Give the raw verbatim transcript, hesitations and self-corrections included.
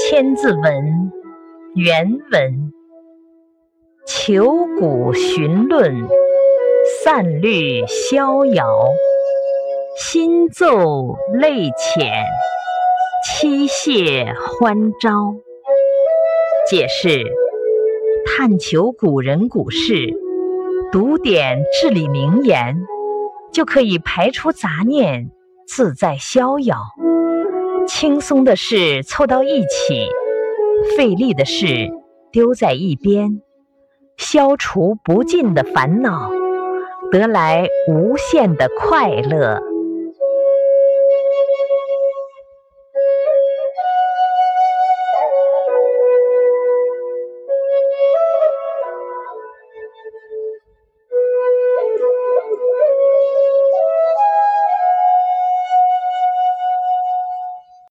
千字文原文：求古寻论，散律逍遥，心奏泪浅，妻谢欢招。解释：探求古人古事，读点至理名言，就可以排除杂念，自在逍遥。轻松的事凑到一起，费力的事丢在一边，消除不尽的烦恼，得来无限的快乐。